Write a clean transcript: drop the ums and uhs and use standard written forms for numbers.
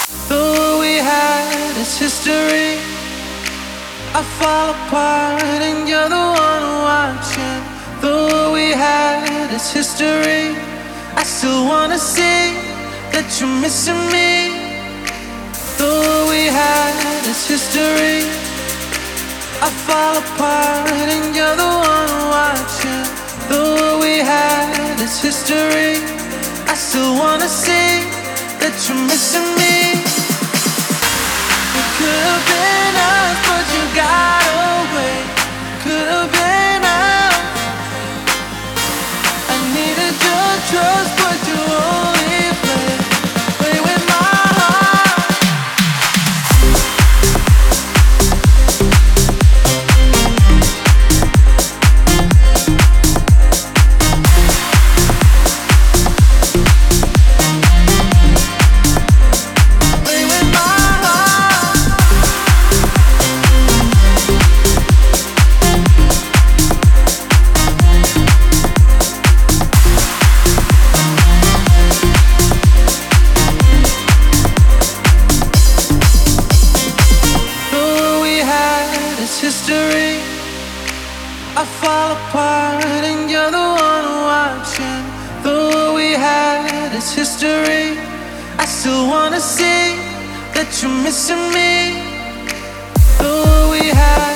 Though we had its history, I fall apart and you're the one watching. Though we had its history, I still wanna see that you're missing me. Though we had its history, I fall apart and you're the one watching. Though we had its history, I still wanna see that you're missing me. It could have been us, but you got away. Could have been us. I needed your trust, but you only play with my heart. History, I fall apart and you're the one watching. Though we had its history, I still wanna see that you're missing me. Though we had